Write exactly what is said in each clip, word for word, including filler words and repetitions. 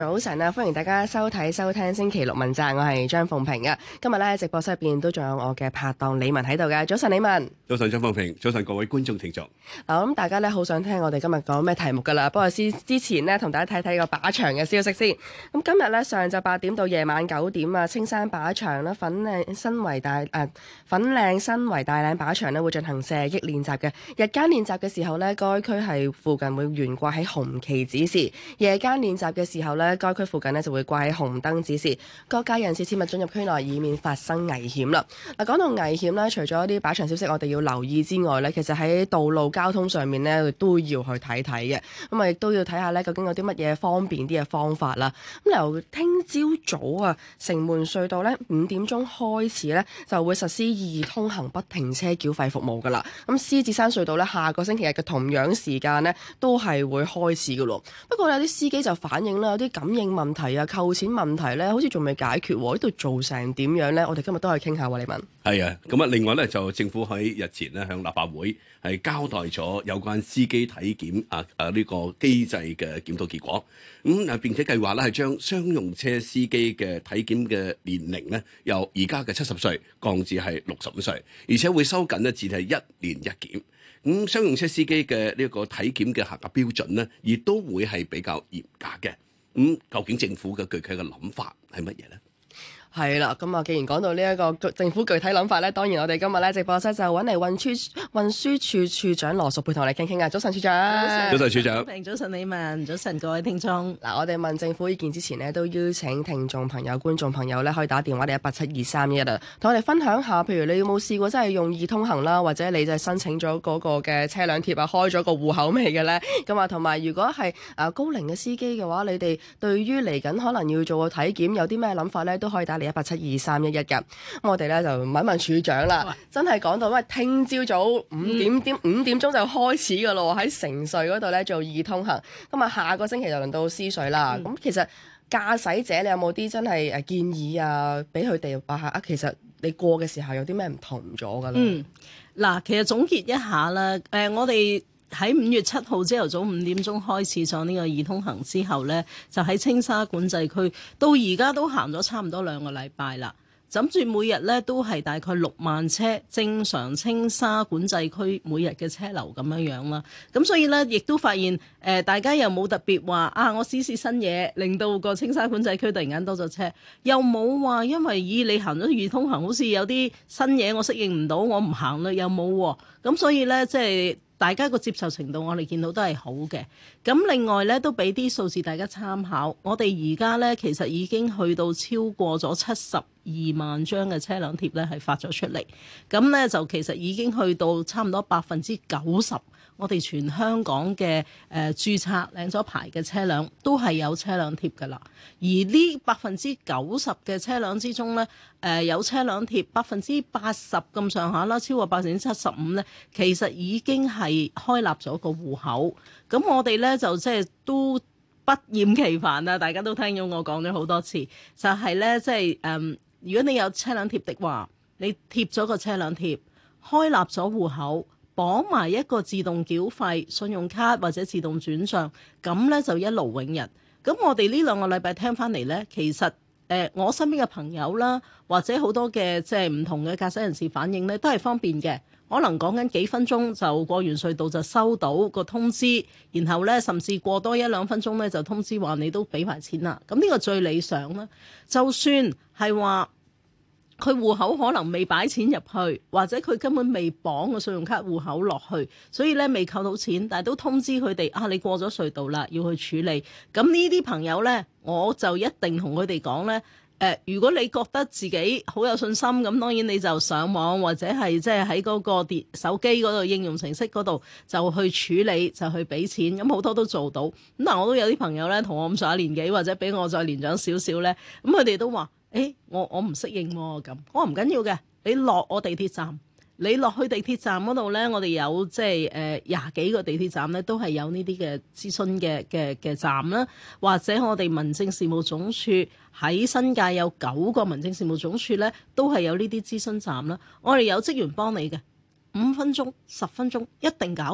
早晨啊，歡迎大家收睇收聽星期六問責，我係張鳳平啊。今日咧直播室入邊都仲有我嘅拍檔李文喺度嘅。早晨，李文。 早晨，張鳳平。早晨，各位觀眾聽眾。 嗱，我諗大家咧好想聽我哋今日講咩題目噶啦。不過之之前呢，同大家睇睇個靶場嘅消息先。咁今日咧上晝八點到夜晚九點啊，青山靶場啦、粉嶺新圍大誒、呃、粉嶺新圍大嶺靶場咧會進行射擊練習嘅。日間練習嘅時候呢，該區係附近會懸掛喺紅旗指示；夜間練習嘅時候呢，該區附近呢就會掛喺紅燈指示，各界人士切勿進入區內，以免發生危險啦。嗱，講到危險咧，除咗啲靶場消息我哋要留意之外咧，其實喺道路交通上面咧都要去睇睇嘅。咁啊，亦都要睇下咧，究竟有啲乜嘢方便啲嘅方法啦。咁由聽朝早啊，城門隧道咧五點鐘開始咧就會實施易通行不停車繳費服務噶啦。咁獅子山隧道咧下個星期日嘅同樣時間咧都係會開始噶咯。不過有啲司機就反映啦，有啲感應問題啊、扣錢問題咧，好似仲未解決喎。呢度做成點樣咧？我哋今日都可以傾下喎，李文。 係啊，咁啊，另外咧就政府喺日前咧向立法會係交代咗有關司機體檢啊啊呢個機制嘅檢討結果。咁啊並且計劃咧係將商用車司機嘅體檢嘅年齡咧由而家嘅七十歲降至係六十五歲，而且會收緊咧至係一年一檢。咁商用車司機嘅呢個體檢嘅合格標準咧，亦都會係比較嚴格嘅。咁究竟政府嘅具體嘅諗法係乜嘢咧？ 係啦，咁啊，既然講到呢一個政府具體諗法咧，當然我哋今日咧直播室就揾嚟運輸運輸處處長羅淑佩同我哋傾傾啊。早晨，處長。 早晨，處長。 早晨，李文。早晨，各位聽眾。 嗱，我哋問政府意見之前呢，都邀請聽眾朋友、觀眾朋友咧，可以打電話嚟一八七二三一啊，同我哋分享下，譬如你有冇試過真係用易通行啦，或者你就係申請咗嗰個嘅車輛貼啊，開咗個戶口未嘅咧？咁啊，同埋如果係啊高齡嘅司機嘅話，你哋對於嚟緊可能要做個體檢有啲咩諗法咧，都可以打嚟一八七二三一一嘅。咁我哋咧就問一問處長啦，哇真係講到喂，聽朝早五點點五點鐘就開始㗎咯，喺城隧嗰度咧做易通行。咁啊，下個星期就輪到獅隧啦。咁、嗯、其實駕駛者你有冇啲真係誒建議啊，俾佢哋話下啊？其實你過嘅時候有啲咩唔同咗㗎咧？嗯， 嗱，其實總結一下啦，誒、呃，我哋喺五月七號朝頭早五點鐘開始咗呢個易通行之後咧，就喺青沙管制區到而家都行咗差唔多兩個禮拜啦。諗住每日咧都係大概六萬車正常青沙管制區每日嘅車流咁樣樣啦，咁所以咧亦都發現誒、呃、大家又冇特別話啊我試試新嘢，令到個青沙管制區突然間多咗車，又冇話因為以你行咗易通行好似有啲新嘢我適應唔到，我唔行啦，又冇喎，咁所以咧即係大家個接受程度我哋見到都係好嘅。咁另外咧都俾啲數字大家參考，我哋而家咧其實已經去到超過咗七十二萬張嘅車輛貼咧係發咗出嚟，咁咧就其實已經去到差唔多百分之九十，我哋全香港嘅誒、呃、註冊領咗牌嘅車輛都係有車輛貼㗎啦。而呢百分之九十嘅車輛之中咧，誒、呃、有車輛貼百分之八十咁上下啦，超過百分之七十五咧，其實已經係開立咗個戶口。咁我哋咧就即係都不厭其煩啊！大家都聽咗我講咗好多次，就係咧即係誒，如果你有車輛貼的話，你貼咗個車輛貼，開立咗戶口，綁埋一個自動繳費信用卡或者自動轉賬，咁咧就一勞永逸。咁我哋呢兩個禮拜聽翻嚟咧，其實誒、呃、我身邊嘅朋友啦，或者好多嘅即係唔同嘅駕駛人士反映咧，都係方便嘅。可能講緊幾分鐘就過完隧道就收到個通知，然後咧甚至過多一兩分鐘咧就通知話你都俾埋錢啦。咁呢個最理想啦。就算係話佢戶口可能未擺錢入去，或者佢根本未綁個信用卡戶口落去，所以咧未扣到錢，但係都通知佢哋啊，你過咗隧道啦，要去處理。咁呢啲朋友咧，我就一定同佢哋講咧。誒、呃，如果你覺得自己好有信心，咁當然你就上網或者係即係喺嗰個電手機嗰度應用程式嗰度就去處理，就去俾錢，咁好多都做到。咁但我都有啲朋友咧，同我咁上下年紀或者比我再年長少少咧，咁佢哋都話：誒、欸，我我唔適應喎咁。我話唔緊要嘅，你落我地鐵站。你落去地鐵站嗰度咧，我哋有即係誒廿幾個地鐵站咧，都係有呢啲嘅諮詢嘅嘅嘅站啦，或者我哋民政事務總署喺新界有九個民政事務總署咧，都係有呢啲諮詢站啦。我哋有職員幫你嘅，五分鐘、十分鐘一定搞掂。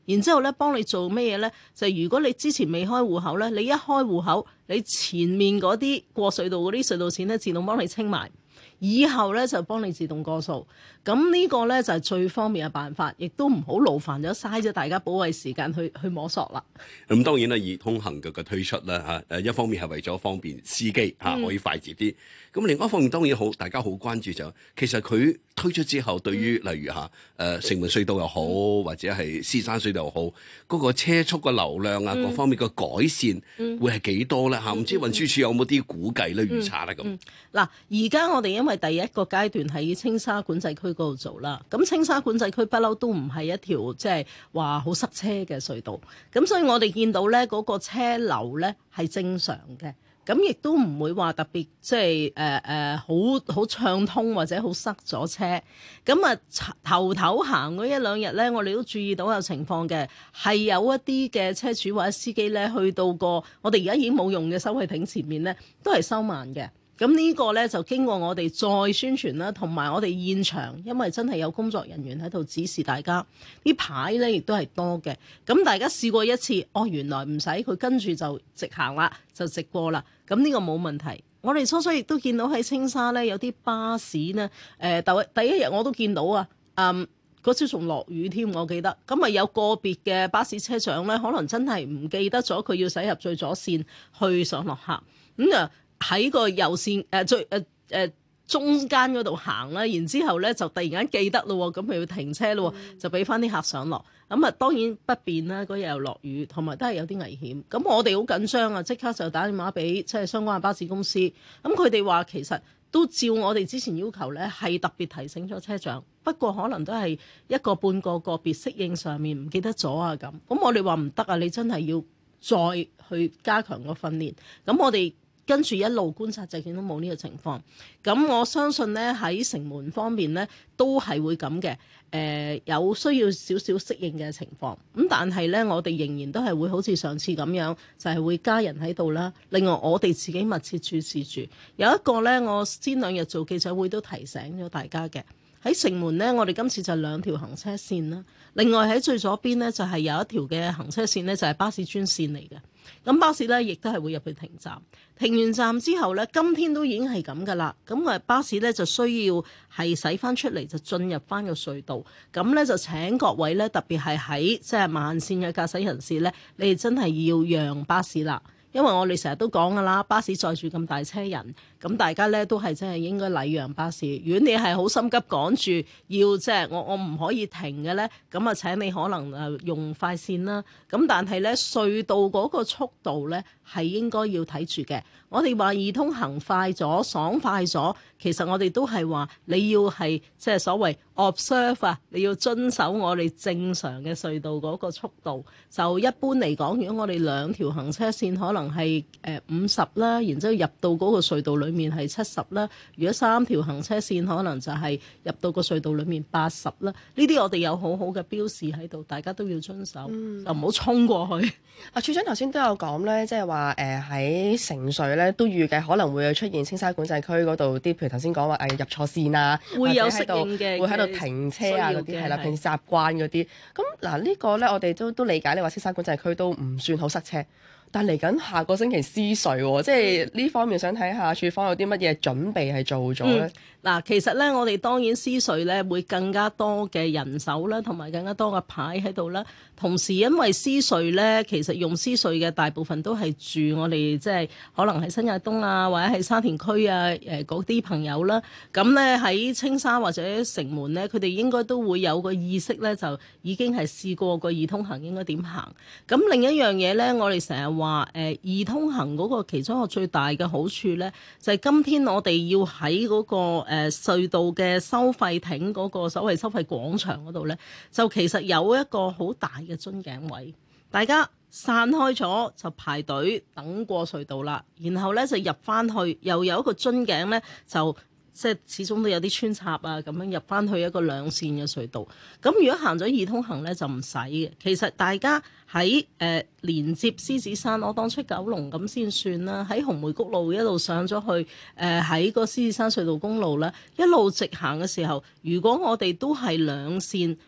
然之後咧幫你做咩嘢咧？就係如果你之前未開戶口咧，你一開戶口，你前面嗰啲過隧道嗰啲隧道錢咧自動幫你清埋。以後咧就幫你自動過數，咁呢個咧就係最方便嘅辦法，亦都唔好勞煩咗嘥咗大家寶貴時間去去摸索啦。 咁當然啦，易通行嘅嘅推出咧嚇，誒一方面係為咗方便司機嚇可以快捷啲，咁、嗯、另外一方面當然好，大家好關注就其實佢推出之後，對於例如嚇誒城門隧道又好，或者係獅山隧道又好，嗰、那個車速嘅流量啊，各方面嘅改善會係幾多咧嚇？唔、嗯、知運輸署有冇啲估計咧、預測咧咁？ 嗱、嗯，而家我哋因為第一個階段喺青沙管制區嗰度做啦，咁青沙管制區不嬲都唔係一條即係話好塞車嘅隧道，咁所以我哋見到咧嗰個車流咧係正常嘅。咁亦都唔會話特別即係誒誒好好暢通或者好塞咗車。咁啊頭頭行嗰一兩日咧，我哋都注意到有情況嘅，係有一啲嘅車主或者司機咧去到個我哋而家已經冇用嘅收費亭前面咧，都係收慢嘅。咁呢個咧就經過我哋再宣傳啦，同埋我哋現場，因為真係有工作人員喺度指示大家，啲牌咧亦都係多嘅。咁大家試過一次，哦原來唔使佢跟住就直行啦，就直過啦。咁呢個冇問題。我哋初初亦都見到喺青沙咧有啲巴士呢，誒、呃、第第一日我都見到啊，嗯嗰朝仲落雨添，我記得。咁啊有個別嘅巴士車長咧，可能真係唔記得咗佢要駛入最左線去上落客，咁啊。喺個右線誒、呃、最誒誒、呃、中間嗰度行啦，然之後咧就突然間記得咯，咁佢要停車咯，就俾翻啲客上落。咁啊當然不便啦，嗰日又落雨，同埋都係有啲危險。咁我哋好緊張啊，即刻就打電話俾即係相關嘅巴士公司。咁佢哋話其實都照我哋之前要求咧，係特別提醒咗車長，不過可能都係一個半個個別適應上面唔記得咗啊咁。咁我哋話唔得啊，你真係要再去加強個訓練。咁我哋跟住一路觀察就見到冇呢個情況，咁我相信咧喺城門方面咧都係會咁嘅，誒、呃、有需要少少適應嘅情況，咁但係咧我哋仍然都係會好似上次咁樣，就係、是、會加人喺度啦。另外我哋自己密切注視住，有一個咧我先兩日做記者會都提醒咗大家嘅，喺城門咧我哋今次就兩條行車線啦，另外喺最左邊咧就係、是、有一條嘅行車線咧就係、是、巴士專線嚟嘅。咁巴士咧，亦都係會入去停站。停完站之後咧，今天都已經係咁噶啦。咁啊，巴士咧就需要係駛翻出嚟，就進入翻個隧道。咁咧就請各位咧，特別係喺即係慢線嘅駕駛人士咧，你哋真係要讓巴士啦。因為我哋成日都講噶啦，巴士載住咁大車人，咁大家咧都係真係應該禮讓巴士。如果你係好心急趕住要即係我我唔可以停嘅咧，咁啊請你可能誒用快線啦。咁但係咧隧道嗰個速度咧係應該要睇住嘅。我哋話易通行快咗、爽快咗，其實我哋都係話你要係即係所謂 observe 啊，你要遵守我哋正常嘅隧道嗰個速度。就一般嚟講，如果我哋兩條行車線可能係誒五十啦，然之後入到嗰個隧道裡面係七十啦。如果三條行車線可能就係入到個隧道裡面八十啦。呢啲我哋有好好嘅標示喺度，大家都要遵守，嗯、就唔好衝過去。 啊，處長頭先都有講咧，即係話誒喺城隧咧都預計可能會出現青沙管制區嗰度啲，譬如頭先講話誒入錯線啊， 會有適應嘅， 會喺度停車啊嗰啲係啦，平時習慣嗰啲。咁嗱呢個咧，我哋都都理解你話青沙管制區都唔算好塞車。但嚟緊下個星期獅隧喎，即係呢方面想睇下處方有啲乜嘢準備係做咗咧？ 嗱、嗯，其實咧，我哋當然獅隧咧會更加多嘅人手啦，同埋更加多嘅牌喺度啦。同時因為獅隧咧，其實用獅隧嘅大部分都係住我哋即係可能喺新界東啊，或者喺沙田區啊，誒嗰啲朋友啦。咁咧喺青沙或者城門咧，佢哋應該都會有個意識咧，就已經係試過個易通行應該點行。咁另一樣嘢咧，我哋成日話誒易通行嗰個其中一個最大嘅好處咧，就係、是、今天我哋要喺嗰、那個誒、呃、隧道嘅收費亭嗰個所謂收費廣場嗰度咧，就其實有一個好大嘅樽頸位，大家散開咗就排隊等過隧道啦，然後咧就入翻去，又有一個樽頸咧就。即係始終都有啲穿插啊，咁樣入翻去一個兩線嘅隧道。咁如果行咗易通行咧，就唔使嘅。其實大家喺誒、呃、連接獅子山，我當出九龍咁先算啦。喺紅梅谷路一路上咗去，誒喺個獅子山隧道公路啦，一路直行嘅時候，如果我哋都係兩線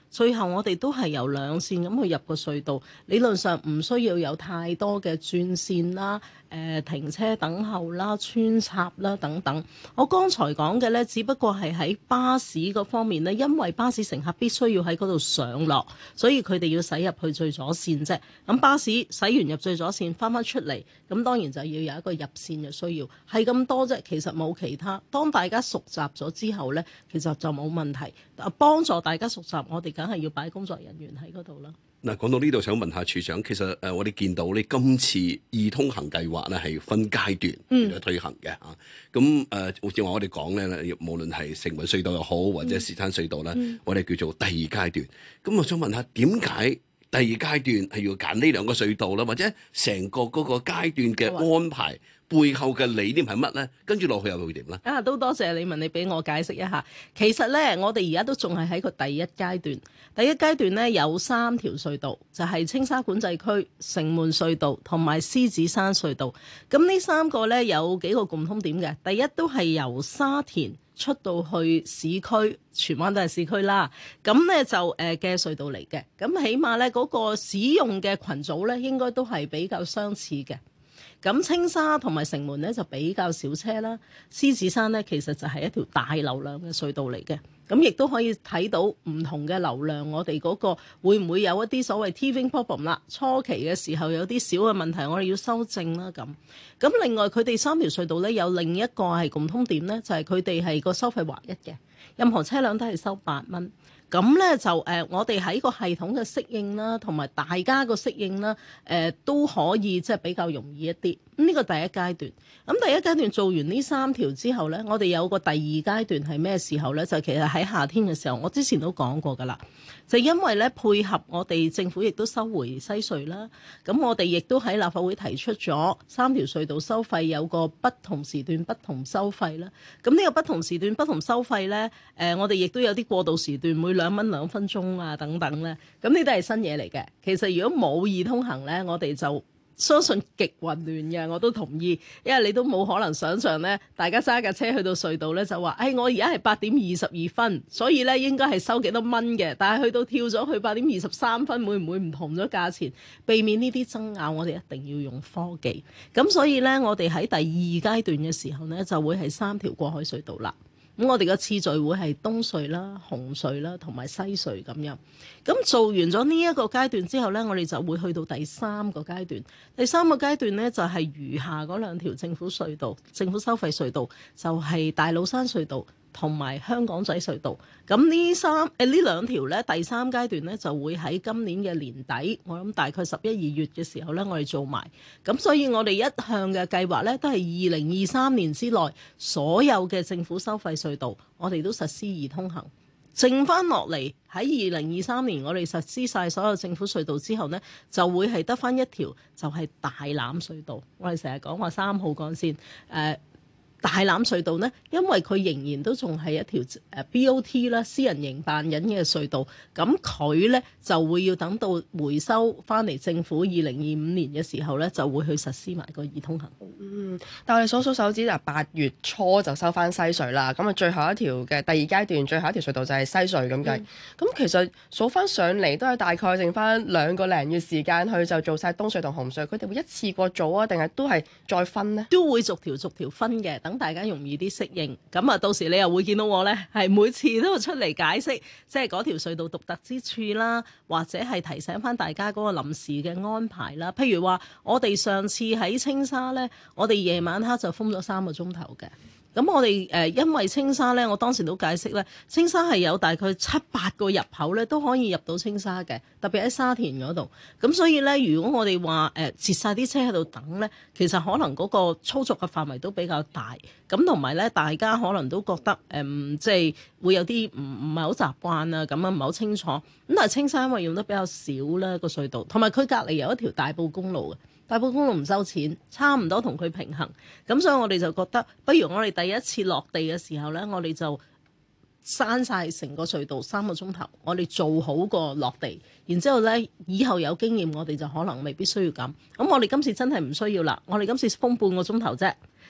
最後我哋都係由兩線咁去入個隧道，理論上唔需要有太多嘅轉線啦、誒、呃、停車等候啦、穿插啦等等。我剛才講嘅呢，只不過係喺巴士嗰方面呢，因為巴士乘客必須要喺嗰度上落，所以佢哋要駛入去最左線啫。咁巴士駛完入最左線，翻返出嚟，咁當然就要有一個入線嘅需要，係咁多啫。其實冇其他。當大家熟習咗之後呢，其實就冇問題。幫助大家熟習，我哋梗係要擺工作人員喺嗰度啦。 嗱，講到呢度，想問下處長，其實誒我哋見到呢今次易通行計劃咧係分階段嚟推行嘅嚇。咁誒好似話我哋講咧，無論係城門隧道又好，或者獅山隧道咧，嗯、我哋叫做第二階段。咁我想問下，點解第二階段係要揀呢兩個隧道啦？或者成個嗰個階段嘅安排？背後嘅理念係乜咧？跟住落去又會點咧？ 啊，都多謝你問，你俾我解釋一下。其實咧，我哋而家都仲係喺個第一階段。第一階段咧有三條隧道，就係、是、青沙管制區、城門隧道同埋獅子山隧道。咁呢三個咧有幾個共通點嘅。第一都係由沙田出到去市區，荃灣都係市區啦。咁咧就誒嘅隧道嚟嘅。咁起碼咧嗰個使用嘅群組咧應該都係比較相似嘅。咁青沙同埋城門咧就比較少車啦，獅子山咧其實就係一條大流量嘅隧道嚟嘅，咁亦都可以睇到唔同嘅流量，我哋嗰個會唔會有一啲所謂 teething problem 啦？初期嘅時候有啲小嘅問題，我哋要修正啦咁。咁另外佢哋三條隧道咧有另一個係共通點咧，就係佢哋係個收費劃一嘅，任何車輛都係收八蚊。咁咧就誒、呃，我哋喺個系統嘅適應啦，同埋大家個適應啦，誒、呃、都可以即係比較容易一啲。咁呢個第一階段，咁第一階段做完呢三條之後咧，我哋有個第二階段係咩時候咧？就其實喺夏天嘅時候，我之前都講過㗎啦。就因為咧配合我哋政府亦都收回西隧啦，咁我哋亦都喺立法會提出咗三條隧道收費有個不同時段不同收費啦。咁呢個不同時段不同收費咧，誒、呃、我哋亦都有啲過渡時段，每兩蚊兩分鐘啊等等咧。咁呢都係新嘢嚟嘅。其實如果冇易通行咧，我哋就相信極混亂嘅，我都同意，因為你都冇可能想像咧，大家揸架車去到隧道咧就話，誒、哎、我而家係八點二十二分，所以咧應該係收幾多蚊嘅，但係去到跳咗去八點二十三分，會唔會唔同咗價錢？避免呢啲爭拗，我哋一定要用科技。咁所以咧，我哋喺第二階段嘅時候咧，就會係三條過海隧道啦。咁我哋個次序會係東隧啦、紅隧啦同埋西隧咁樣。咁做完咗呢一個階段之後呢，我哋就會去到第三個階段。第三個階段呢，就係餘下嗰兩條政府隧道、政府收費隧道，就係大老山隧道同埋香港仔隧道。咁呢三誒呢兩條呢，第三階段呢，就會喺今年嘅年底，我諗大概十一二月嘅時候呢，我哋做埋。咁所以我哋一向嘅計劃呢，都係二零二三年之內所有嘅政府收費隧道，我哋都實施易通行。剩翻落嚟喺二零二三年，我哋實施晒所有政府隧道之後呢，就會係得翻一條，就係大欖隧道。我哋成日講話三號幹線誒。呃大欖隧道呢，因為佢仍然都仲係一條誒 B O T 啦，私人營辦緊嘅隧道，咁佢呢就會要等到回收翻嚟政府二零二五年嘅時候呢，就會去實施埋個易通行。 嗯，但係我哋數數手指就八月初就收翻西隧啦，咁啊最後一條嘅第二階段最後一條隧道就係西隧咁計。咁、嗯、其實數翻上嚟都係大概剩翻兩個零月時間去就做晒東隧同紅隧，佢哋會一次過做啊，定係都係再分呢？ 都會逐條逐條分嘅。等大家容易啲適應，咁啊到時你又會見到我呢，係每次都出嚟解釋，即係嗰條隧道獨特之處啦，或者係提醒翻大家嗰個臨時嘅安排啦。譬如話，我哋上次喺青沙呢，我哋夜晚黑就封咗三個鐘頭嘅。咁我哋誒、呃、因為青沙咧，我當時都解釋咧，青沙係有大概七八個入口咧，都可以入到青沙嘅，特別喺沙田嗰度。咁所以咧，如果我哋話誒截晒啲車喺度等咧，其實可能嗰個操作嘅範圍都比較大。咁同埋咧，大家可能都覺得誒、嗯，即係會有啲唔唔係好習慣啊，咁啊唔係好清楚。咁但係青沙因為用得比較少啦個隧道，同埋佢隔離有一條大埔公路嘅。大埔公路唔收錢，差唔多同佢平衡，咁所以我哋就覺得，不如我哋第一次落地嘅時候呢，我哋就閂晒成個隧道三個鐘頭，我哋做好個落地，然之後呢，以後有經驗，我哋就可能未必需要咁。咁我哋今次真係唔需要啦，我哋今次封半個鐘頭啫，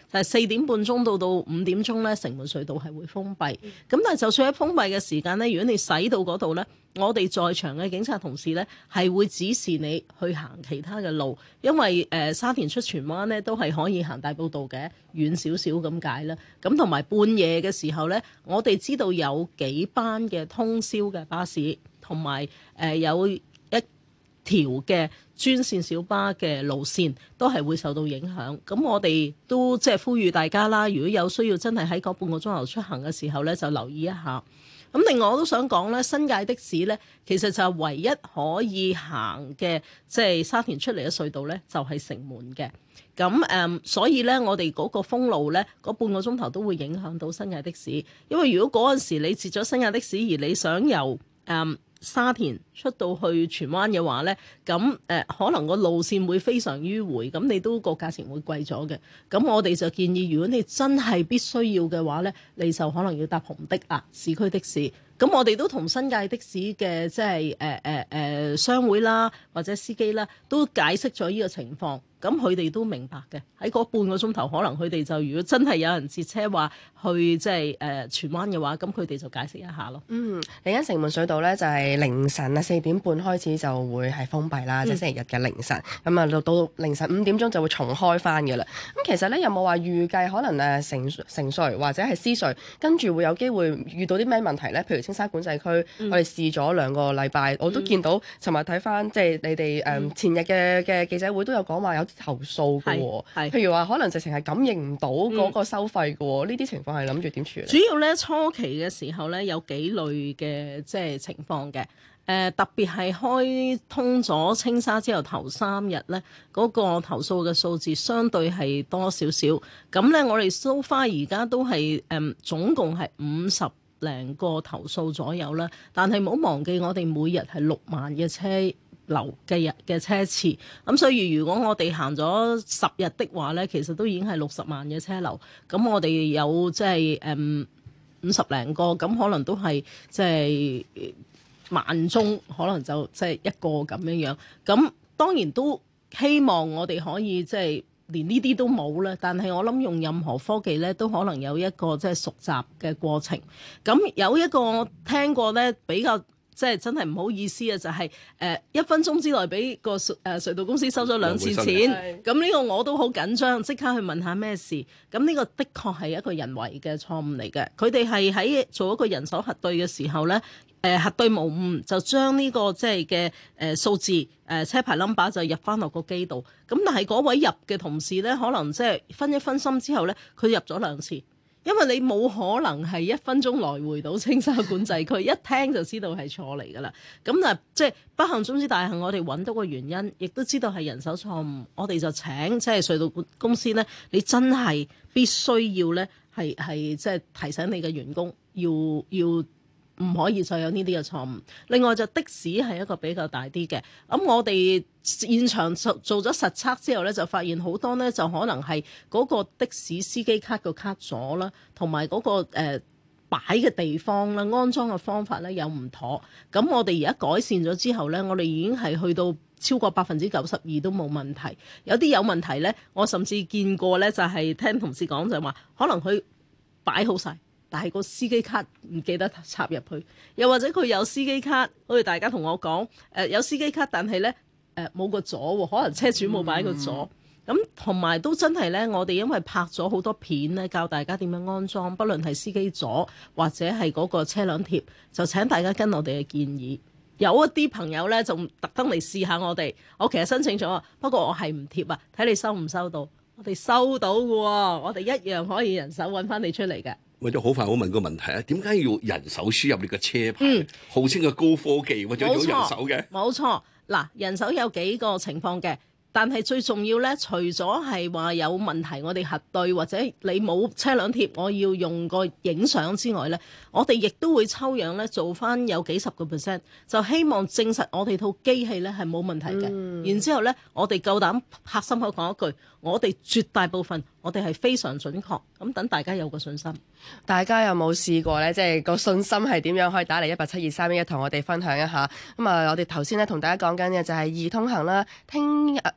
就係四點半鐘到到五點鐘咧，城門隧道係會封閉。咁但係就算喺封閉嘅時間咧，如果你駛到嗰度咧，我哋在場嘅警察同事咧係會指示你去行其他嘅路，因為誒、呃、沙田出荃灣咧都係可以行大埔道嘅，遠少少咁解啦。咁同埋半夜嘅時候咧，我哋知道有幾班嘅通宵嘅巴士，同埋誒有一條嘅專線小巴嘅路線都係會受到影響。咁我哋都即係呼籲大家啦，如果有需要真係喺嗰半個鐘頭出行嘅時候咧，就留意一下。咁另外我都想講咧，新界的士咧，其實就係唯一可以行嘅，即係沙田出嚟嘅隧道咧，就係城門嘅。咁誒、嗯，所以咧，我哋嗰個封路咧，嗰半個鐘頭都會影響到新界的士。因為如果嗰陣時你截咗新界的士，而你想由誒、嗯沙田出到去荃灣嘅話呢，咁誒、呃、可能個路線會非常迂迴，咁你都個價錢會貴咗嘅。咁我哋就建議，如果你真係必須要嘅話呢，你就可能要搭紅的啊，市區的士。咁我哋都同新界的士嘅即係誒誒誒商會啦，或者司機啦，都解釋咗呢個情況。咁佢哋都明白嘅，喺嗰半個鐘頭，可能佢哋就如果真係有人截車話去即係誒荃灣嘅話，咁佢哋就解釋一下咯。 嗯，嚟緊城門隧道咧就係、是、凌晨啊四點半開始就會係封閉啦，嗯、即係星期日嘅凌晨。咁啊到到凌晨五點鐘就會重開翻嘅啦。咁其實咧有冇話預計可能誒城城隧或者係獅隧跟住會有機會遇到啲咩問題咧？譬如青沙管制區，嗯、我哋試咗兩個禮拜，我都見到尋日睇翻即係你哋誒、嗯、前日嘅嘅記者會都有講話有投訴嘅喎，譬如話可能直情係感應唔到嗰個收費嘅喎，呢啲、嗯、情況係諗住點處理？ 主要咧初期嘅時候咧有幾類嘅即係情況嘅，誒、呃、特別係開通咗青沙之後頭三日咧，嗰、那個投訴嘅數字相對係多少少，咁咧我哋 so far 而家都係誒、嗯、總共係五十零個投訴左右啦，但係唔好忘記我哋每日係六萬嘅車流嘅日嘅車次，咁所以如果我哋行咗十日的話咧，其實都已經係六十萬嘅車流。咁我哋有即係誒五十零個，咁可能都係即係萬宗，可能就即係一個咁樣樣。咁當然都希望我哋可以即係連呢啲都冇啦。但係我諗用任何科技咧，都可能有一個即係熟習嘅過程。咁有一個我聽過咧比較。即係真係唔好意思啊！就係、是、誒、呃、一分鐘之內俾個隧誒隧道公司收咗兩次錢，咁呢個我都好緊張，即刻去問下咩事。咁呢個的確係一個人為嘅錯誤嚟嘅。佢哋係喺做一個人手核對嘅時候咧，誒、呃、核對無誤，就將呢、這個即係嘅誒數字誒、呃、車牌 number 就入翻落個機度。咁但係嗰位入嘅同事咧，可能即係分一分心之後咧，佢入咗兩次。因為你冇可能係一分鐘來回到青沙管制區，一聽就知道係錯嚟㗎啦。咁啊，即係不幸中之大幸，我哋揾到個原因，亦都知道係人手錯誤，我哋就請即係隧道公司咧，你真係必須要咧，係係即係提醒你嘅員工要要。唔可以再有呢啲嘅錯誤。另外就的士係一個比較大啲嘅，咁我哋現場做做咗實測之後咧，就發現好多咧就可能係嗰個的士司機卡個卡咗啦，同埋嗰個誒擺嘅地方啦、安裝嘅方法咧有唔妥。咁我哋而家改善咗之後咧，我哋已經係去到超過百分之九十二都冇問題。有啲有問題咧，我甚至見過咧，就係聽同事講就話，可能佢擺好晒。但係個司機卡唔記得插入去，又或者佢有司機卡，好似大家同我講，誒、呃、有司機卡，但係咧誒冇個座喎，可能車主冇擺個座。咁同埋都真係咧，我哋因為拍咗好多片咧，教大家點樣安裝，不論係司機座或者係嗰個車輛貼，就請大家跟我哋嘅建議。有一啲朋友咧，就特登嚟試下我哋。我其實申請咗，不過我係唔貼啊，睇你收唔收到。我哋收到嘅喎，我哋一樣可以人手揾翻你出嚟嘅。 為咗好快，我問個問題啊，點解要人手輸入你個車牌？嗯、號稱嘅高科技，或者要人手嘅？ 冇錯，嗱，人手有幾個情況嘅。但係最重要咧，除咗係話有問題，我哋核對或者你冇車輛貼，我要用個影相之外咧，我哋亦都會抽樣咧，做翻有幾十個 percent，就希望證實我哋套機器咧係冇問題嘅。嗯、然之後咧，我哋夠膽拍心口講一句，我哋絕大部分我哋係非常準確，咁等大家有個信心。 大家有冇試過咧？即係個信心係點樣？可以打嚟一八七二三一一同我哋分享一下。咁啊，我哋頭先咧同大家講緊嘅就係易通行啦，聽日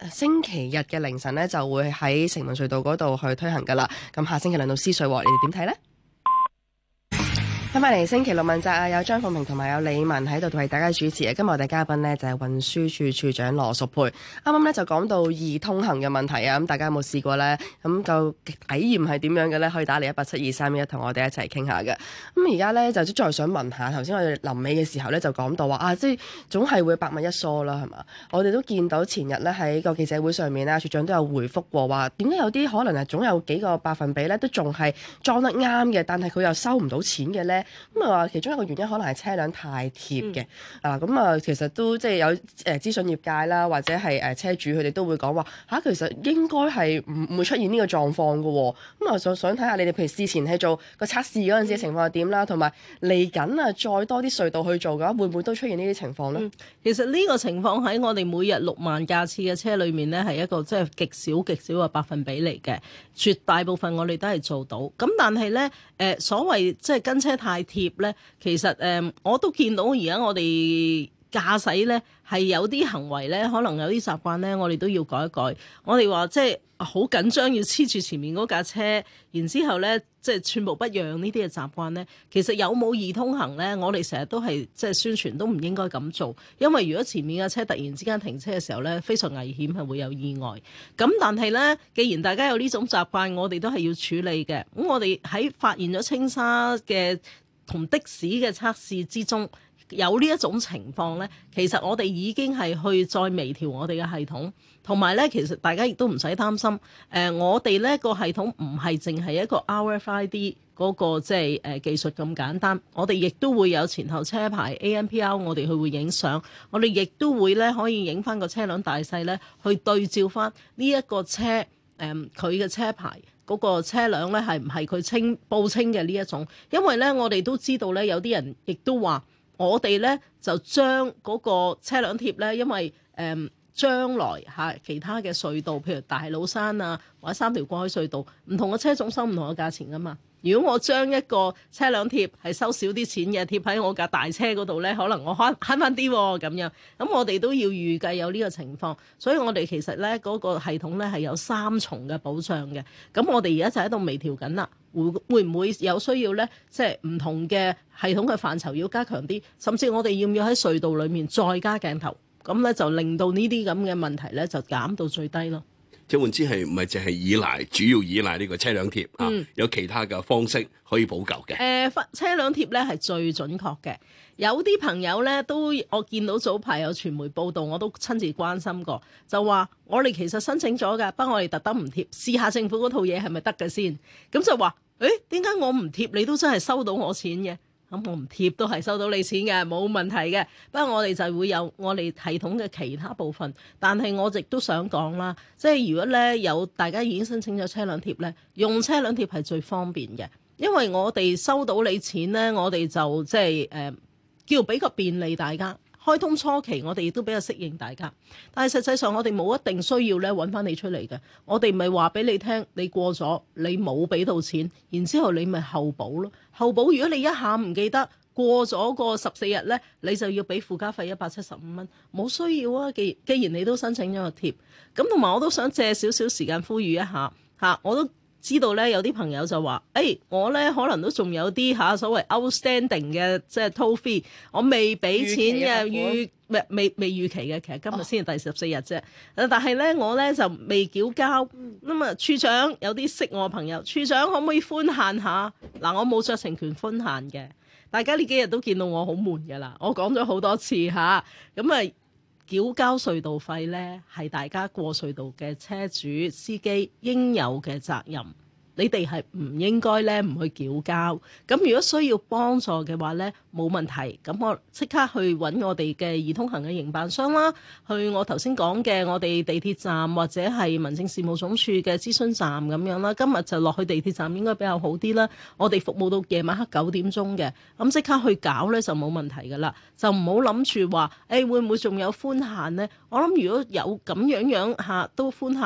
星期日嘅凌晨呢，就會喺城門隧道嗰度去推行噶啦。咁下星期輪到獅隧，你哋點睇呢？翻返嚟星期六問責啊，有張鳳平同埋有李文喺度為大家主持嘅。今日我哋嘉賓呢，就係運輸署署長羅淑佩。啱啱咧就講到易通行嘅問題啊，咁大家有冇試過呢？咁個體驗係點樣嘅呢？可以打嚟一八七二三一同我哋一齊傾下嘅。咁而家呢，就再想問下，頭先我哋臨尾嘅時候呢，就講到話啊，即係總係會百密一疏啦，係嘛？我哋都見到前日呢，喺個記者會上面呢，署長都有回覆過話，點解有啲可能係總有幾個百分比呢，都仲係裝得啱嘅，但係佢又收唔到錢嘅呢？咁啊話其中一個原因可能係車輛太貼嘅。嗯、啊，咁啊其實都即係有誒諮詢業界啦，或者係誒車主佢哋都會講話嚇，其實應該係唔唔會出現呢個狀況嘅喎。咁啊就想睇下你哋譬如事前喺做個測試嗰陣時嘅情況係點啦，同埋嚟緊啊再多啲隧道去做嘅話，會唔會都出現呢啲情況呢？ 嗯、其實呢個情況喺我哋每日六萬架次嘅車裏面呢，係一個即係極少極少嘅百分比嚟嘅，絕大部分我哋都係做到。咁但係呢，誒、呃、所謂即係跟車太貼咧，其實誒、呃、我都見到而家我哋駕駛咧係有啲行為咧，可能有啲習慣咧，我哋都要改一改。我哋話即係好緊張，要黐住前面嗰架車，然之後咧即係寸步不讓呢啲嘅習慣咧，其實有冇易通行咧？我哋成日都係即係宣傳都唔應該咁做，因為如果前面嘅車突然之間停車嘅時候咧，非常危險，係會有意外。咁但係咧，既然大家有呢種習慣，我哋都係要處理嘅。咁我哋喺發現咗青沙嘅同的士嘅測試之中，有呢一種情況呢，其實我哋已經係去再微調我哋嘅系統，同埋呢，其實大家亦都唔使擔心。誒、呃，我哋呢個系統唔係淨係一個 R F I D 嗰、那個即係誒技術咁簡單，我哋亦都會有前後車牌 A M P R， 我哋去會影相，我哋亦都會呢可以影翻個車輛大細呢，去對照翻呢一個車誒佢嘅車牌。嗰個車輛咧係唔係佢清報稱嘅呢一種？因為咧我哋都知道咧有啲人亦都話，我哋咧就將嗰個車輛貼咧，因為誒、嗯、將來嚇其他嘅隧道，譬如大老山啊或者三條過海隧道，唔同嘅車種收唔同嘅價錢噶嘛。如果我將一個車輛貼係收少啲錢嘅貼喺我架大車嗰度咧，可能我慳慳翻啲喎咁樣。咁我哋都要預計有呢個情況，所以我哋其實咧嗰、那個系統咧係有三重嘅保障嘅。咁我哋而家就喺度微調緊啦，會會唔會有需要咧？即係唔同嘅系統嘅範疇要加強啲，甚至我哋要唔要喺隧道裡面再加鏡頭？咁咧就令到呢啲咁嘅問題咧就減到最低咯。 即係換之係唔係淨係依賴，主要依賴呢個車輛貼啊？ 嗯、 有其他嘅方式可以補救嘅。誒、 呃，車輛貼咧係最準確嘅。有啲朋友咧都我見到早排有傳媒報道，我都親自關心過，就話我哋其實申請咗㗎，不過我哋特登唔貼，試下政府嗰套嘢係咪得嘅先。咁就話，誒點解我唔貼你都真係收到我錢嘅？咁我唔貼都係收到你錢嘅，冇問題嘅。不過我哋就會有我哋系統嘅其他部分，但係我亦都想講啦，即係如果咧有大家已經申請咗車輛貼咧，用車輛貼係最方便嘅，因為我哋收到你錢咧，我哋就即係誒、呃、叫俾個便利大家。開通初期我哋亦都比較適應大家，但係實際上我哋冇一定需要咧揾翻你出嚟嘅，我哋咪話俾你聽，你過咗你冇俾到錢，然之後你咪後補咯。後補如果你一下唔記得過咗個十四日咧，你就要俾附加費一百七十五蚊，冇需要啊。既既然你都申請咗個貼，咁同埋我都想借少少時間呼籲一下嚇，我都知道咧有啲朋友就話，誒、欸、我咧可能都仲有啲嚇所謂 outstanding 嘅即係 toll fee，我未俾錢嘅預未未未預期嘅，其實今日先係第十四日啫。但係咧我咧就未繳交，咁啊處長有啲識我嘅朋友，處長可唔可以寬限下？嗱，我冇酌情權寬限嘅，大家呢幾日都見到我好悶㗎啦，我講咗好多次嚇，咁啊。繳交隧道費呢，係大家過隧道嘅車主、司機應有嘅責任。你哋係唔應該咧唔去繳交。咁如果需要幫助嘅話呢，冇問題。咁我即刻去揾我哋嘅易通行嘅營辦商啦，去我頭先講嘅我哋地鐵站或者係民政事務總署嘅諮詢站咁樣啦。今日就落去地鐵站應該比較好啲啦。我哋服務到夜晚黑九點鐘嘅，咁即刻去搞呢就冇問題噶啦。就唔好諗住話，誒會唔會仲有寬限呢？我諗如果有咁樣樣嚇都寬限呢，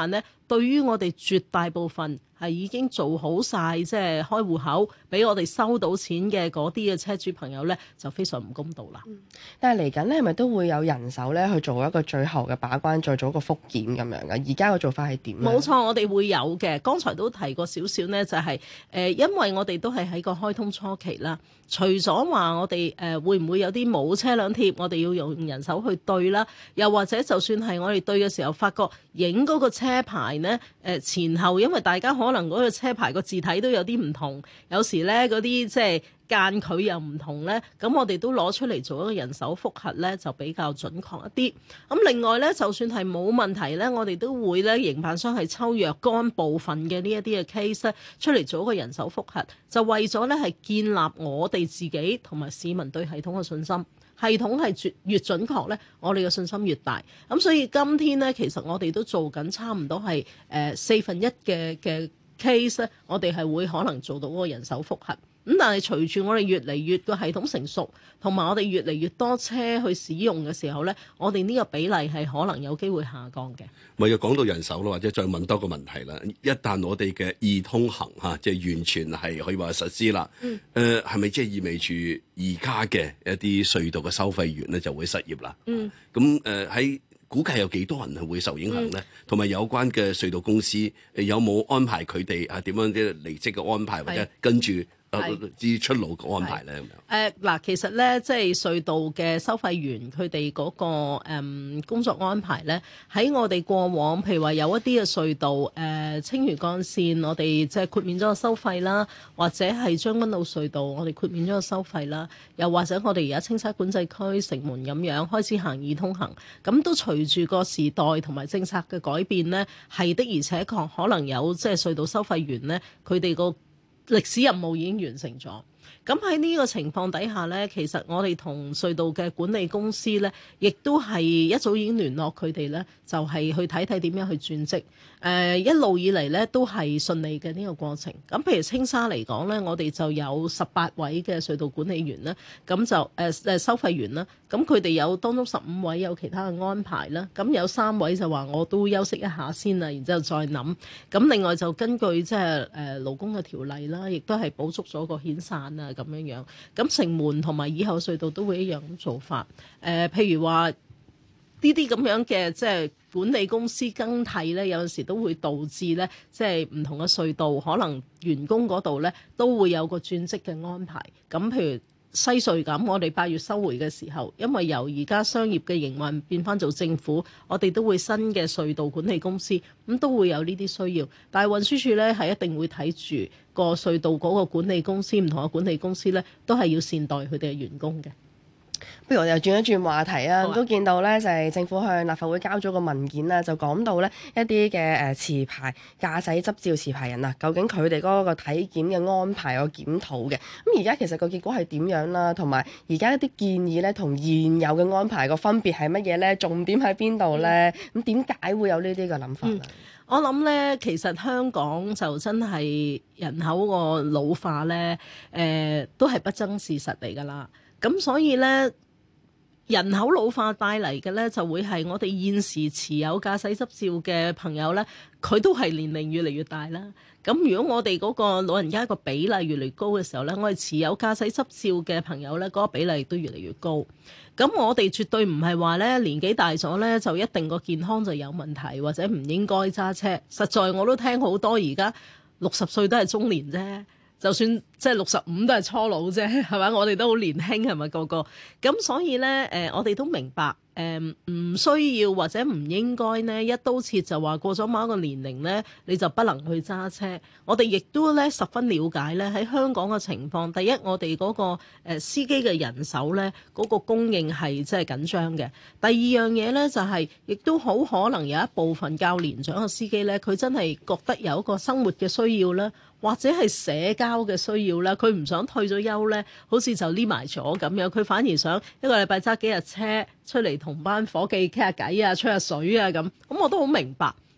對於我哋絕大部分係已經做好晒，即係開戶口俾我哋收到錢嘅嗰啲嘅車主朋友咧，就非常唔公道啦。 嗯、但係嚟緊咧，係咪都會有人手咧去做一個最後嘅把關，再做一個復檢咁樣嘅？而家嘅做法係點咧？ 冇錯，我哋會有嘅。剛才都提過少少呢，就係、是、誒、呃，因為我哋都係喺個開通初期啦。除咗話我哋誒、呃、會唔會有啲冇車輛貼，我哋要用人手去對啦，又或者就算係我哋對嘅時候，發覺影嗰個車牌呢，誒、呃、前後，因為大家可能嗰個車牌個字體都有啲唔同，有時呢嗰啲即係間距又唔同呢，咁我哋都攞出嚟做一個人手複核呢，就比較準確一啲。咁另外呢，就算係冇問題呢，我哋都會呢，營辦商係抽若干部分嘅呢一啲嘅 case 出嚟做一個人手複核，就為咗呢係建立我哋自己同埋市民對系統嘅信心。系統係越準確呢，我哋嘅信心越大。咁所以今天呢，其實我哋都做緊差唔多係誒四分一嘅嘅 case 咧，我哋係會可能做到嗰個人手複核。咁但係隨住我哋越嚟越個系統成熟，同埋我哋越嚟越多車去使用嘅時候呢，我哋呢個比例係可能有機會下降嘅。 咪又講到人手咯，或者再問多個問題啦。一旦我哋嘅易通行嚇，即係完全係可以話實施啦。嗯。誒係咪即係意味住而家嘅一啲隧道嘅收費員咧就會失業啦？嗯。咁誒喺估計有幾多人係會受影響咧？同埋、嗯、有關嘅隧道公司誒有冇安排佢哋啊點樣啲離職嘅安排，或者跟住？至出路嘅安排咧咁樣。誒嗱、 呃，其實咧，即係隧道嘅收費員佢哋嗰個、嗯、工作安排咧，喺我哋過往，譬如話有一啲嘅隧道，誒、呃、青嶼幹線，我哋即係豁免咗個收費啦，或者係將軍澳隧道，我哋豁免咗個收費啦，又或者我哋而家青沙管制區城門咁樣開始行易通行，咁都隨住個時代同埋政策嘅改變咧，係的而且確可能有即係隧道收費員咧，佢哋個歷史任務已經完成咗。咁喺呢個情況底下呢，其實我哋同隧道嘅管理公司呢，亦都係一早已經聯絡佢哋呢，就係、是、去睇睇點樣去轉職。誒、呃、一路以嚟呢，都係順利嘅呢個過程。咁譬如青沙嚟講呢，我哋就有十八位嘅隧道管理員啦，咁就誒誒、呃、收費員啦。咁佢哋有當中十五位有其他嘅安排啦。咁有三位就話我都休息一下先啦，然之後再諗。咁另外就根據即係誒勞工嘅條例啦，亦都係補足咗個遣散啊。咁樣樣，咁城門同埋以後隧道都會一樣咁做法。誒、呃，譬如話呢啲咁樣嘅即係管理公司更替咧，有陣時都會導致咧，即係唔同嘅隧道可能員工嗰度咧都會有個轉職嘅安排。咁譬如西隧咁，我哋八月收回嘅時候，因為由而家商業嘅營運變翻做政府，我哋都會新嘅隧道管理公司，咁都會有呢啲需要。但係運輸署咧係一定會睇住個隧道嗰個管理公司，唔同嘅管理公司咧都係要善待佢哋嘅員工嘅。 不如我哋又轉一轉話題啊！ 啊都見到咧，就係、是、政府向立法會交咗個文件啦，就講到咧一啲嘅誒持牌駕駛執照持牌人啊，究竟佢哋嗰個體檢嘅安排個檢討嘅。咁而家其實個結果係點樣啦？同埋而家一啲建議咧，同現有嘅安排個分別係乜嘢咧？重點喺邊度咧？咁點解會有呢啲嘅諗法啊、嗯？ 我諗咧，其實香港就真係人口個老化咧，誒、呃、都係不爭事實嚟㗎啦。咁所以咧，人口老化帶嚟嘅咧，就會係我哋現時持有駕駛執照嘅朋友咧，佢都係年齡越嚟越大啦。咁如果我哋嗰個老人家個比例越嚟越高嘅時候咧，我哋持有駕駛執照嘅朋友咧，嗰個比例都越嚟越高。咁我哋絕對唔係話咧年紀大咗咧就一定個健康就有問題，或者唔應該揸車。實在我都聽好多而家六十歲都係中年啫。就算即係六十五都係初老啫，係咪？我哋都好年輕，係咪個個？咁所以咧，誒、呃，我哋都明白，誒、呃，唔需要或者唔應該呢一刀切就話過咗某一個年齡咧，你就不能去揸車。我哋亦都咧十分了解咧喺香港嘅情況。第一，我哋嗰、那個誒、呃、司機嘅人手咧，嗰、那個供應係即係緊張嘅。第二樣嘢咧就係、是，亦都好可能有一部分較年長嘅司機咧，佢真係覺得有一個生活嘅需要啦。或者係社交嘅需要啦，佢唔想退咗休咧，好似就匿埋咗咁樣，佢反而想一個禮拜揸幾日車出嚟同班伙計傾下偈啊，吹下水啊咁。咁我都好明白。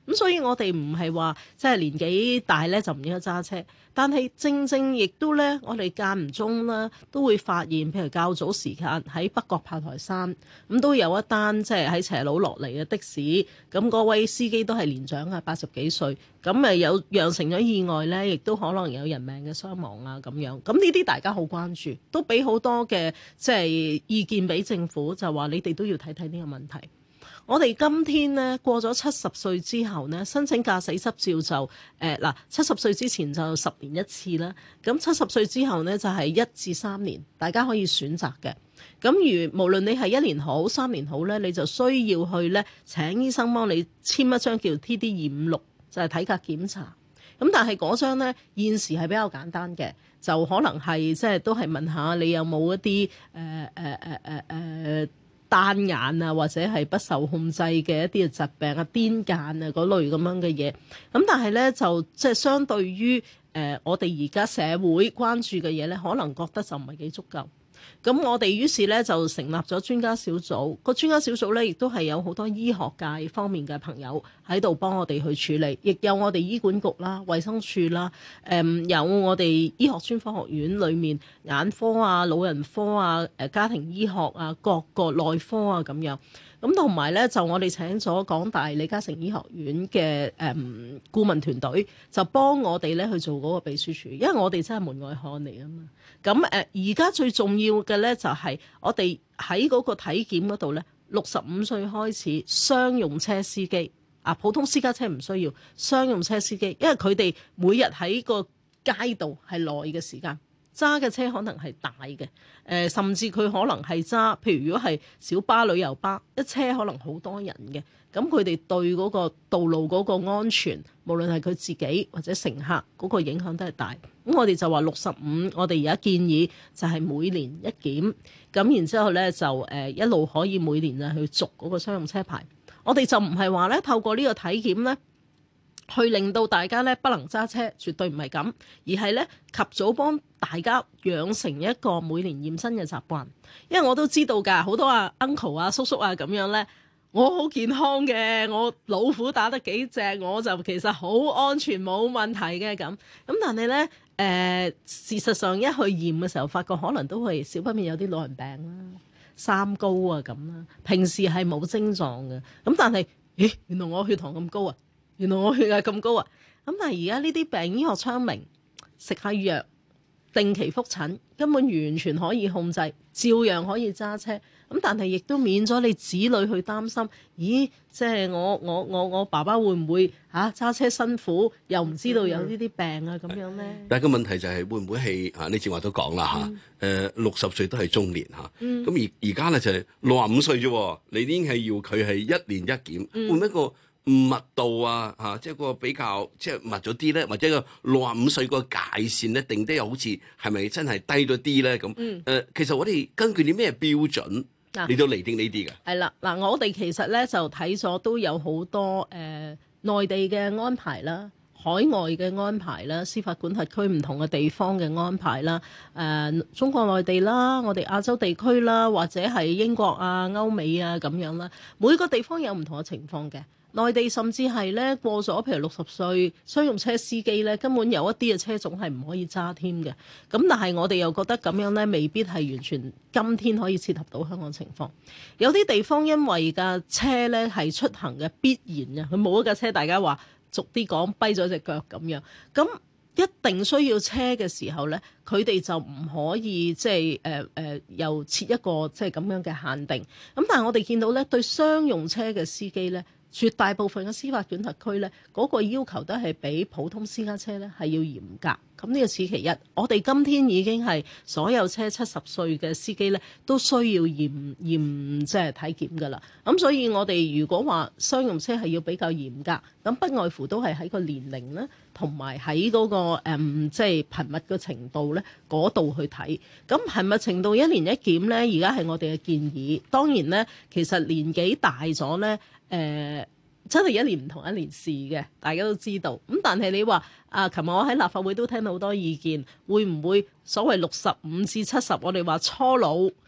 咁所以我哋唔係話即係年紀大咧就唔應該揸車，但係正正亦都咧，我哋間唔中啦都會發現，譬如較早時間喺北角炮台山咁都有一單即係喺斜路落嚟嘅的，的士，咁嗰位司機都係年長啊，八十幾歲，咁誒有釀成咗意外咧，亦都可能有人命嘅傷亡啊咁樣。咁呢啲大家好關注，都俾好多嘅即係意見俾政府，就話你哋都要睇睇呢個問題。我哋今天呢，過咗七十歲之後呢，申請駕駛執照就誒嗱七十歲之前就十年一次啦，咁七十歲之後呢，就係一至三年，大家可以選擇嘅。咁如無論你係一年好三年好呢，你就需要去呢請醫生幫你簽一張叫 T D 二五六，就係體格檢查。咁但係嗰張呢，現時係比較簡單嘅，就可能係即係都係問下你有冇一啲誒誒誒誒誒單眼啊，或者係不受控制嘅一啲嘅疾病啊、癲癇啊嗰類咁樣嘅嘢。咁但係咧就即係相對於誒、呃、我哋而家社會關注嘅嘢咧，可能覺得就唔係幾足夠。咁我哋於是咧就成立咗專家小組，個專家小組咧亦都係有好多醫學界方面嘅朋友喺度幫我哋去處理，亦有我哋醫管局啦、衛生署啦，誒、嗯、有我哋醫學專科學院裏面眼科啊、老人科啊、誒家庭醫學啊、各個內科啊咁樣。咁同埋咧，就我哋請咗港大李嘉誠醫學院嘅誒、嗯、顧問團隊，就幫我哋咧去做嗰個秘書處，因為我哋真係門外漢嚟啊嘛。咁誒而家最重要嘅咧，就係、是、我哋喺嗰個體檢嗰度咧，六十五歲開始商用車司機啊，普通私家車唔需要商用車司機，因為佢哋每日喺個街道係耐嘅時間。揸嘅車可能係大嘅，誒、呃、甚至佢可能係揸，譬如如果係小巴、旅遊巴，一車可能好多人嘅，咁佢哋對嗰個道路嗰個安全，無論係佢自己或者乘客嗰個影響都係大。咁我哋就話六十五，我哋而家建議就係每年一檢，咁然之後咧就誒、呃、一路可以每年就去續嗰個商用車牌。我哋就唔係話咧透過呢個體檢咧，去令到大家咧不能揸車，絕對唔係咁，而係咧及早幫大家養成一個每年驗身嘅習慣。因為我都知道㗎，好多啊 uncle 啊叔叔啊咁樣咧，我好健康嘅，我老虎打得幾隻，我就其實好安全冇問題嘅咁。咁但係咧誒，事實上一去驗嘅時候，發覺可能都係少不免有啲老人病啦、三高啊咁啦，平時係冇症狀嘅。咁但係，咦，原來我血糖咁高啊！原來我血壓咁高啊！咁但係而家呢啲病醫學昌明，食下藥，定期覆診，根本完全可以控制，照樣可以揸車。咁但係亦都免咗你子女去擔心，咦？即係我我我我爸爸會唔會嚇揸車辛苦，又唔知道有呢啲病啊咁樣咧？ 但係個問題就係會唔會係啊？你正話都講啦嚇，誒六十歲都係中年嚇，咁、 嗯、 而而家咧就係六十五歲啫，你已經係要佢係一年一檢， 嗯、 會唔會一個密度啊，嚇、啊，即係個比較即係密咗啲咧，或者個六十五歲個界線咧定得又好似係咪真係低咗啲咧？咁誒、 嗯呃，其實我哋根據啲咩標準嚟到釐定呢啲嘅？ 係啦，嗱，我哋其實咧就睇咗都有好多誒、呃、內地嘅安排啦。海外嘅安排啦，司法管轄區唔同嘅地方嘅安排啦，誒、呃、中國內地啦，我哋亞洲地區啦，或者係英國啊、歐美啊咁樣啦，每個地方有唔同嘅情況嘅。內地甚至係咧過咗譬如六十歲商用車司機咧，根本有一啲嘅車種係唔可以揸添嘅。咁但係我哋又覺得咁樣咧，未必係完全今天可以切合到香港情況。有啲地方因為架車咧係出行嘅必然嘅，佢冇一架車，大家話俗啲講跛咗隻腳咁樣，咁一定需要車嘅時候咧，佢哋就唔可以即係誒誒又設一個即係咁樣嘅限定。咁但係我哋見到咧，對商用車嘅司機咧，絕大部分嘅司法管轄區咧，嗰、那個要求都係比普通私家車咧係要嚴格。咁呢個此其一。我哋今天已經係所有車七十歲嘅司機咧，都需要驗驗即係體檢㗎啦。咁所以我哋如果話商用車係要比較嚴格，咁不外乎都係喺個年齡咧，同埋喺嗰個誒、嗯、即係頻密嘅程度咧嗰度去睇。咁頻密程度一年一檢咧，而家係我哋嘅建議。當然咧，其實年紀大咗咧，誒、呃。真係一年唔同一年事嘅，大家都知道。咁但係你話啊，琴日我喺立法會都聽到好多意見，會唔會所謂六十五至七十，我哋話初老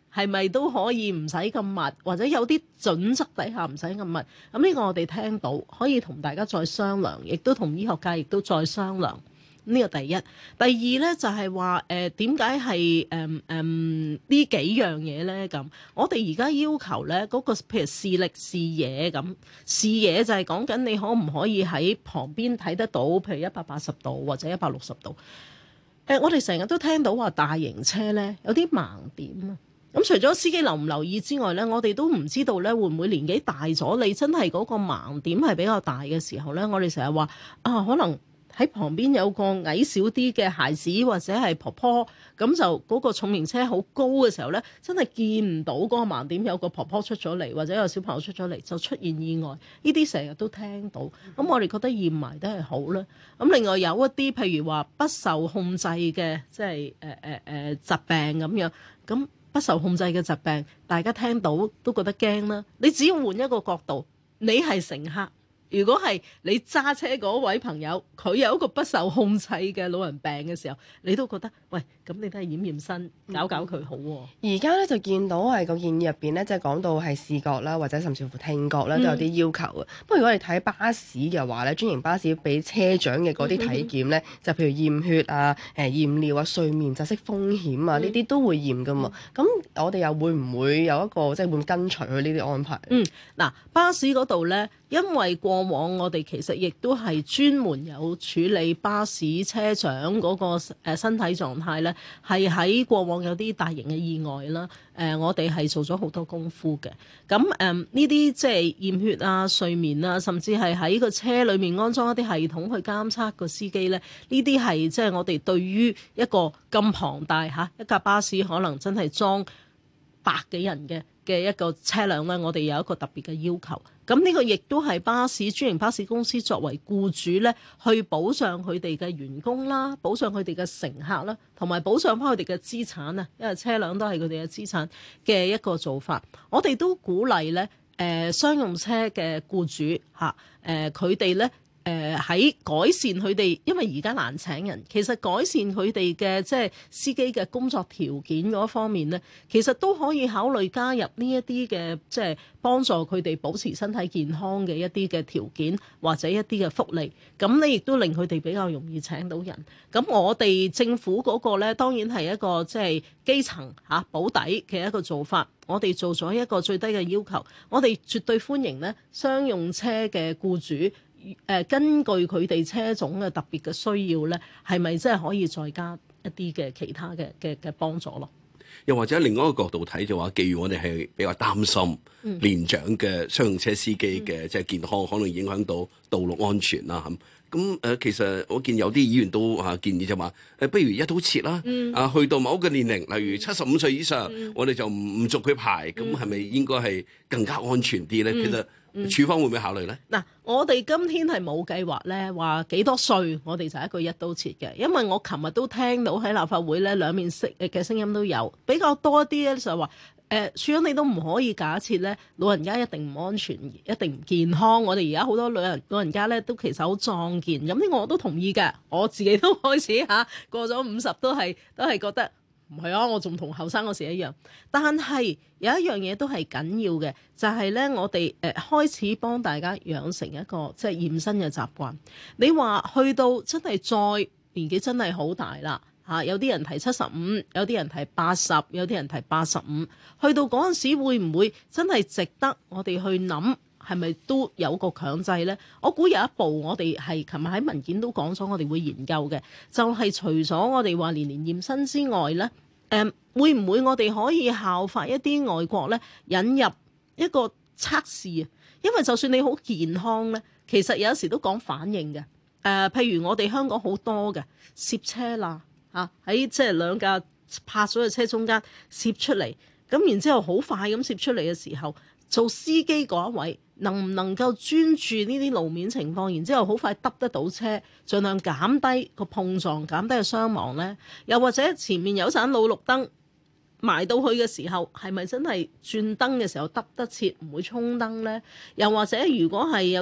係咪都可以唔使咁密，或者有啲準則底下唔使咁密？咁呢個我哋聽到，可以同大家再商量，亦都同醫學界亦都再商量。呢個第一，第二咧就係話誒點解係誒誒呢幾樣嘢咧？咁我哋而家要求咧嗰個譬如視力視野咁，視野就係講緊你可唔可以喺旁邊睇得到，譬如一百八十度或者一百六十度。誒、呃，我哋成日都聽到話大型車咧有啲盲點啊。咁除咗司機留唔留意之外咧，我哋都唔知道咧會唔會年紀大咗，你真係嗰個盲點係比較大嘅時候咧，我哋成日話啊，可能喺旁邊有個矮小啲嘅孩子或者係婆婆，咁就嗰個重型車好高嘅時候咧，真係見唔到嗰個盲點有個婆婆出咗嚟，或者有小朋友出咗嚟，就出現意外。呢啲成日都聽到，咁我哋覺得驗埋都係好啦。咁另外有一啲譬如話不受控制嘅，即係誒誒誒疾病咁樣，咁不受控制嘅疾病，大家聽到都覺得驚啦。你只要換一個角度，你係乘客。如果係你揸車嗰位朋友，佢有一個不受控制嘅老人病嘅時候，你都覺得喂，咁你都係驗驗身，搞搞佢好喎、啊。 而家咧就見到係個建議入邊咧，即係講到係視覺啦，或者甚至乎聽覺咧都有啲要求嘅。不過、嗯、如果你睇巴士嘅話咧，專營巴士俾車長嘅嗰啲體檢咧，嗯、就譬如驗血啊、誒驗尿啊、睡眠窒息風險啊，呢啲、嗯、都會驗噶嘛。咁、嗯、我哋又會唔會有一個即係會跟隨佢呢啲安排？ 嗯，嗱，巴士嗰度咧。因為過往我哋其實亦都係專門有處理巴士車長嗰個誒身體狀態咧，係喺過往有啲大型嘅意外啦。誒、呃，我哋係做咗好多功夫嘅。咁誒呢啲即係驗血啊、睡眠啊，甚至係喺個車裡面安裝一啲系統去監測個司機咧。呢啲係即係我哋對於一個咁龐大嚇一架巴士可能真係裝百幾人嘅嘅一個車輛咧，我哋有一個特別嘅要求。咁呢個亦都係巴士專營巴士公司作為僱主咧，去保障佢哋嘅員工啦，保障佢哋嘅乘客啦，同埋保障翻佢哋嘅資產啊，因為車輛都係佢哋嘅資產嘅一個做法。我哋都鼓勵咧，誒、呃、商用車嘅僱主嚇，誒佢哋咧。誒喺、呃、改善佢哋，因為而家難請人，其實改善佢哋嘅即係司機嘅工作條件嗰方面咧，其實都可以考慮加入呢一啲嘅即係幫助佢哋保持身體健康嘅一啲嘅條件或者一啲嘅福利，咁你亦都令佢哋比較容易請到人。咁我哋政府嗰個咧，當然係一個即係基層嚇保底嘅一個做法。我哋做咗一個最低嘅要求，我哋絕對歡迎咧商用車嘅僱主。誒、呃、根據佢哋車種嘅特別嘅需要咧，係咪真係可以再加一啲嘅其他嘅嘅嘅幫助咯？ 又或者另外一個角度睇就話，既然我哋係比較擔心年長嘅商用車司機嘅即係健康，可能影響到道路安全啦咁。咁誒，其實我見有啲議員都啊建議就話誒，不如一刀切啦，嗯、啊去到某一個年齡，例如七十五歲以上，嗯、我哋就唔唔續佢牌，咁係咪應該係更加安全啲咧？嗯、其實。嗯、處方會唔會考慮呢？ 嗱，我哋今天係冇計劃咧，話幾多歲我哋就一個一刀切嘅，因為我琴日都聽到喺立法會咧兩面色嘅聲音都有，比較多一啲咧就係話，誒、呃，處長你都唔可以假設咧老人家一定唔安全，一定唔健康。我哋而家好多老人老人家咧都其實好壯健，咁呢個我都同意嘅，我自己都開始嚇過咗五十都係都係覺得。唔係啊，我仲同後生嗰時一樣。但係有一樣嘢都係緊要嘅，就係、是、咧我哋誒、呃、開始幫大家養成一個即係驗身嘅習慣。你話去到真係再年紀真係好大啦嚇、啊，有啲人提七十五，有啲人提八十，有啲人提八十五。去到嗰陣時會唔會真係值得我哋去諗？係咪都有個強制呢？我估有一步我哋係琴日喺文件都講咗，我哋會研究嘅，就係、是、除咗我哋話年年驗身之外呢，誒、呃、會唔會我哋可以效法一啲外國呢，引入一個測試啊？因為就算你好健康呢，其實有時都講反應嘅。誒、呃，譬如我哋香港好多嘅攝車啦嚇，喺即係兩架泊咗嘅車中間攝出嚟，咁然之後好快咁攝出嚟嘅時候，做司機嗰一位能唔能夠專注呢啲路面情況，然之後好快揼得到車，盡量減低個碰撞，減低個傷亡呢？又或者前面有盞老綠燈埋到去嘅時候，係咪真係轉燈嘅時候揼得切，唔會衝燈呢？又或者如果係有啲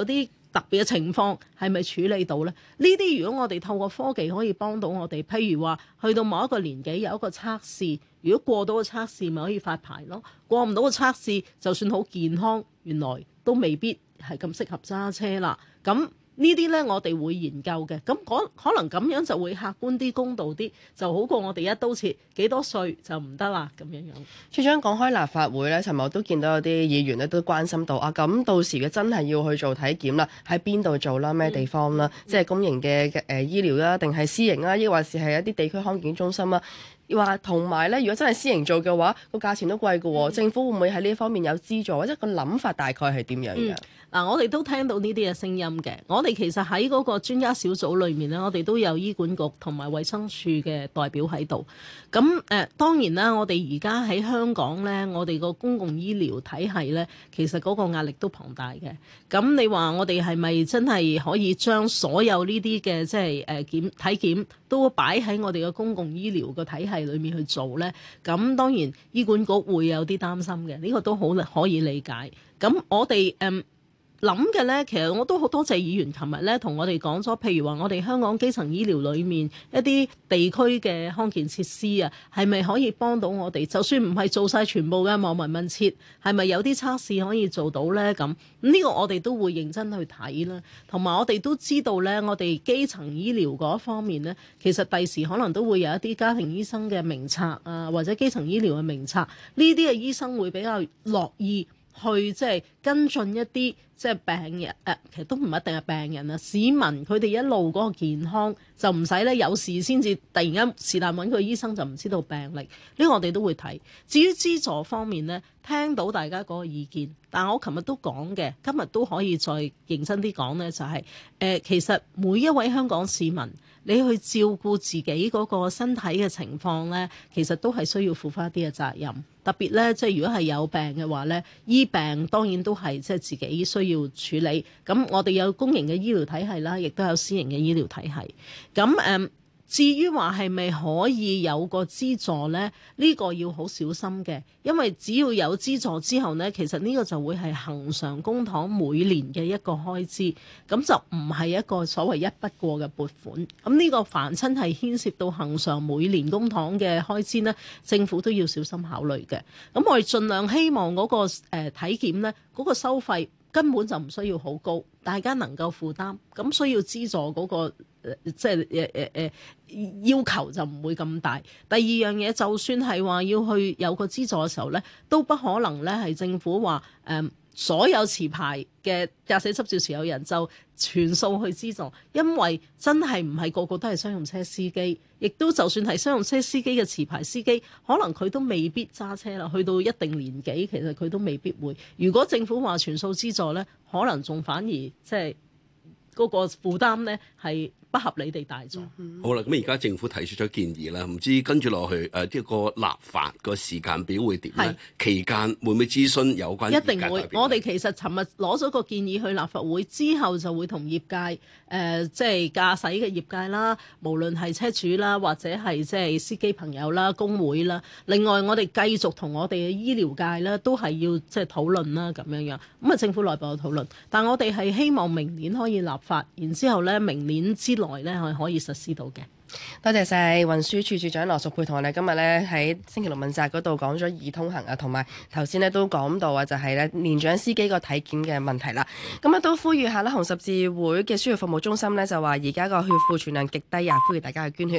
特別嘅情況係咪處理到呢？呢啲如果我哋透過科技可以幫到我哋，譬如話去到某一個年紀有一個測試，如果過到個測試咪可以發牌咯，過唔到個測試就算好健康，原來都未必係咁適合揸車啦。咁呢啲呢，我哋會研究嘅。咁可能咁樣就會客觀啲、公道啲，就好過我哋一刀切幾多歲就唔得啦咁樣樣。 處長講開立法會呢，尋日我都見到有啲議員咧都關心到啊，咁到時嘅真係要去做體檢啦，喺邊度做啦？咩地方啦？嗯、即係公營嘅誒、呃、醫療啦，定係私營啦？抑或是係一啲地區康健中心啦？話同埋咧，如果真係私營做嘅話，個價錢都貴嘅喎。嗯、政府會唔會喺呢方面有資助，或者個諗法大概係點樣嘅？嗱、 嗯，我哋都聽到呢啲嘅聲音嘅。我哋其實喺嗰個專家小組裏面咧，我哋都有醫管局同埋衛生署嘅代表喺度。咁誒、呃，當然啦，我哋而家喺香港咧，我哋個公共醫療體系咧，其實嗰個壓力都龐大嘅。咁你話我哋係咪真係可以將所有呢啲嘅即係誒檢體檢都擺喺我哋嘅公共醫療個體系裏面去做呢？咁當然醫管局會有啲擔心嘅，呢、這個都好可以理解。咁我哋誒諗嘅呢，其實我都好多謝議員琴日呢同我哋講咗，譬如話我哋香港基層醫療裏面一啲地區嘅康健設施啊，係咪可以幫到我哋？就算唔係做晒全部嘅望聞問切，係咪有啲測試可以做到呢？咁呢個我哋都會認真去睇啦。同埋我哋都知道呢，我哋基層醫療嗰方面呢，其實第時可能都會有一啲家庭醫生嘅名冊啊，或者基層醫療嘅名冊，呢啲嘅醫生會比較樂意去即係跟進一啲即係病人誒、呃，其實都唔一定係病人啊，市民佢哋一路嗰個健康就唔使咧有事先至突然間是但揾個醫生就唔知道病歷，呢、這個我哋都會睇。至於資助方面呢，聽到大家嗰個意見，但我琴日都講嘅，今日都可以再認真啲講呢，就係、是、誒、呃、其實每一位香港市民，你去照顧自己嗰個身體嘅情況呢，其實都係需要負翻啲嘅責任。特別呢，即係如果係有病嘅話呢，醫病當然都係即係自己需要處理。咁我哋有公營嘅醫療體系啦，亦都有私營嘅醫療體系。咁誒。嗯至於話係咪可以有個資助呢？呢個要好小心嘅，因為只要有資助之後呢，其實呢個就會係恆常公帑每年嘅一個開支，咁就唔係一個所謂一筆過嘅撥款。咁呢個凡親係牽涉到恆常每年公帑嘅開支呢，政府都要小心考慮嘅。咁我哋盡量希望嗰個誒體檢呢，嗰個收費根本就唔需要好高，大家能夠負擔，咁需要資助嗰個。即係誒誒誒要求就唔會咁大。第二樣嘢，就算係話要去有個資助嘅時候咧，都不可能咧係政府話誒、呃、所有持牌嘅駕駛執照持有人就全數去資助，因為真係唔係個個都係商用車司機，亦都就算係商用車司機嘅持牌司機，可能佢都未必揸車啦。去到一定年紀，其實佢都未必會。如果政府話全數資助咧，可能仲反而即係嗰個負擔咧係不合理地大咗。 嗯、好啦，咁而家政府提出咗建議啦，唔知跟住落去誒，即、呃、個立法個時間表會點咧？是期間會唔會諮詢有關？ 一定會。我哋其實尋日攞咗個建議去立法會之後，就會同業界誒、呃，即係駕駛嘅業界啦，無論係車主啦，或者係即係司機朋友啦、工會啦。另外，我哋繼續同我哋嘅醫療界咧，都係要即係討論啦，咁樣樣。咁啊，政府內部有討論，但我哋係希望明年可以立法，然之後咧，明年之內咧係可以實施到嘅。 多謝晒運輸署署長羅淑佩同我哋今日咧喺星期六問責嗰度講咗易通行啊，同埋頭先咧都講到啊，就係咧年長司機個體檢嘅問題啦。咁啊都呼籲下啦，紅十字會嘅輸血服務中心咧就話而家個血庫存量極低啊，呼籲大家去捐血。